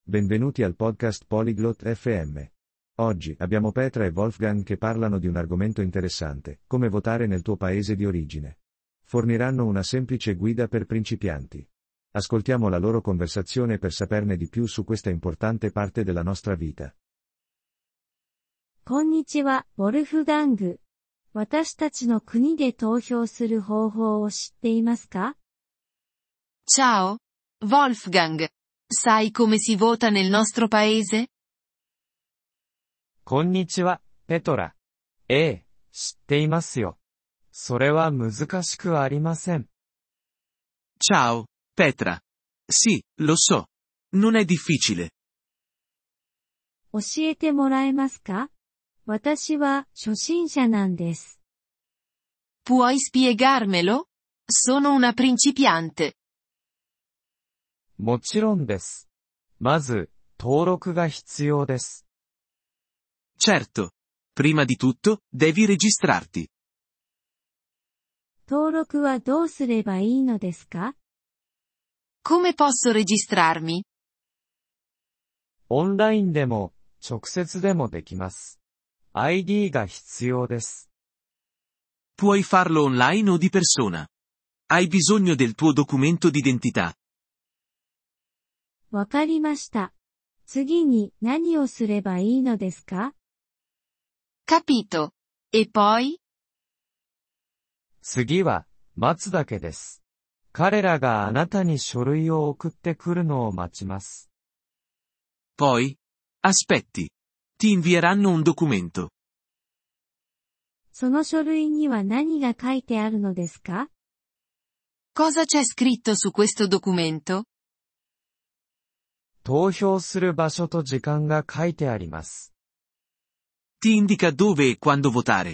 Benvenuti al podcast Polyglot FM. Oggi abbiamo Petra e Wolfgang che parlano di un argomento interessante, come votare nel tuo paese di origine. Forniranno una semplice guida per principianti. Ascoltiamo la loro conversazione per saperne di più su questa importante parte della nostra vita. こんにちは、ウォルフガング。私たちの国で投票する方法を知っていますか？ Ciao, Wolfgang. Sai come si vota nel nostro paese? こんにちは、ペトラ。ええ、知っていますよ。それは難しくありません。 Ciao, Petra. Sì, lo so. Non è difficile. 教えてもらえますか？私は初心者なんです。 Puoi spiegarmelo? Sono una principiante. もちろんです。まず、登録が必要です。 Certo. Prima di tutto, devi registrarti. 登録はどうすればいいのですか？ Come posso registrarmi? オンラインでも、直接でもできます。ID が必要です。 Puoi farlo online o di persona. Hai bisogno del tuo documento d'identità. わかりました。次に何をすればいいのですか？ Capito. E poi? 次は、待つだけです。彼らがあなたに書類を送ってくるのを待ちます。 Poi? Aspetti. Ti invieranno un documento. その書類には何が書いてあるのですか？ Cosa c'è scritto su questo documento? 投票する場所と時間が書いてあります。 Ti indica dove e quando votare.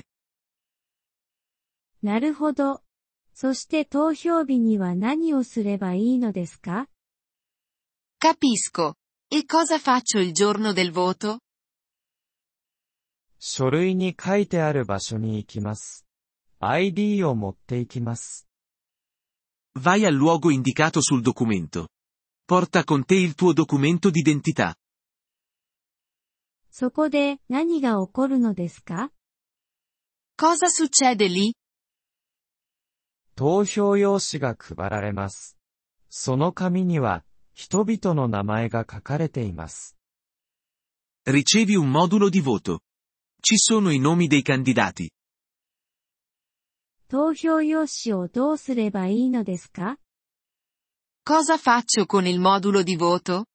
なるほど。そして投票日には何をすればいいのですか？ Capisco. E cosa faccio il giorno del voto? 書類に書いてある場所に行きます。ID を持って行きます。 Vai al luogo indicato sul documento. Porta con te il tuo documento d'identità. そこで何が起こるのですか？ Cosa succede lì? 投票用紙が配られます。その紙には、人々の名前が書かれています。 Ricevi un modulo di voto. Ci sono i nomi dei candidati. 投票用紙をどうすればいいのですか？ Cosa faccio con il modulo di voto?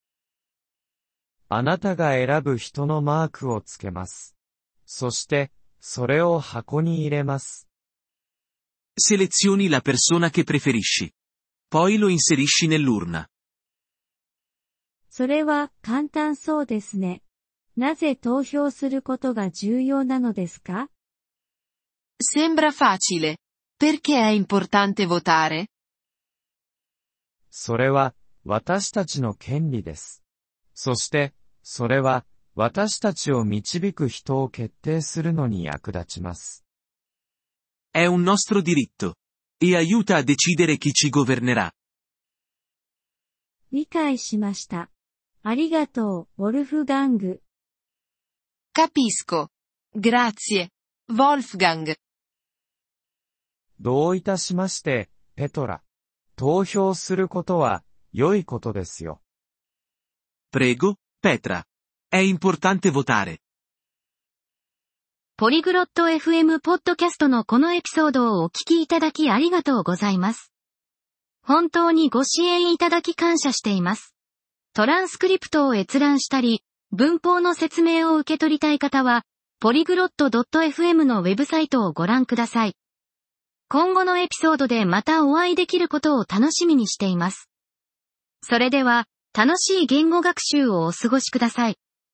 あなたが選ぶ人のマークをつけます。そして、それを箱に入れます。 Selezioni la persona che preferisci. Poi lo inserisci nell'urna. それは簡単そうですね。なぜ投票することが重要なのですか？ Sembra facile. Perché è importante votare? それは、私たちの権利です。そして、それは、私たちを導く人を決定するのに役立ちます。 È un nostro diritto. E aiuta a decidere chi ci governerà. 理解しました。ありがとう、ウォルフガング。 Capisco. Grazie, Wolfgang. どういたしまして、ペトラ。投票することは、良いことですよ。 Prego, Petra. È importante votare. ポリグロット FM ポッドキャストのこのエピソードをお聞きいただきありがとうございます。本当にご支援いただき感謝しています。トランスクリプトを閲覧したり、文法の説明を受け取りたい方は、ポリグロット .fm のウェブサイトをご覧ください。今後のエピソードでまたお会いできることを楽しみにしています。それでは、楽しい言語学習をお過ごしください。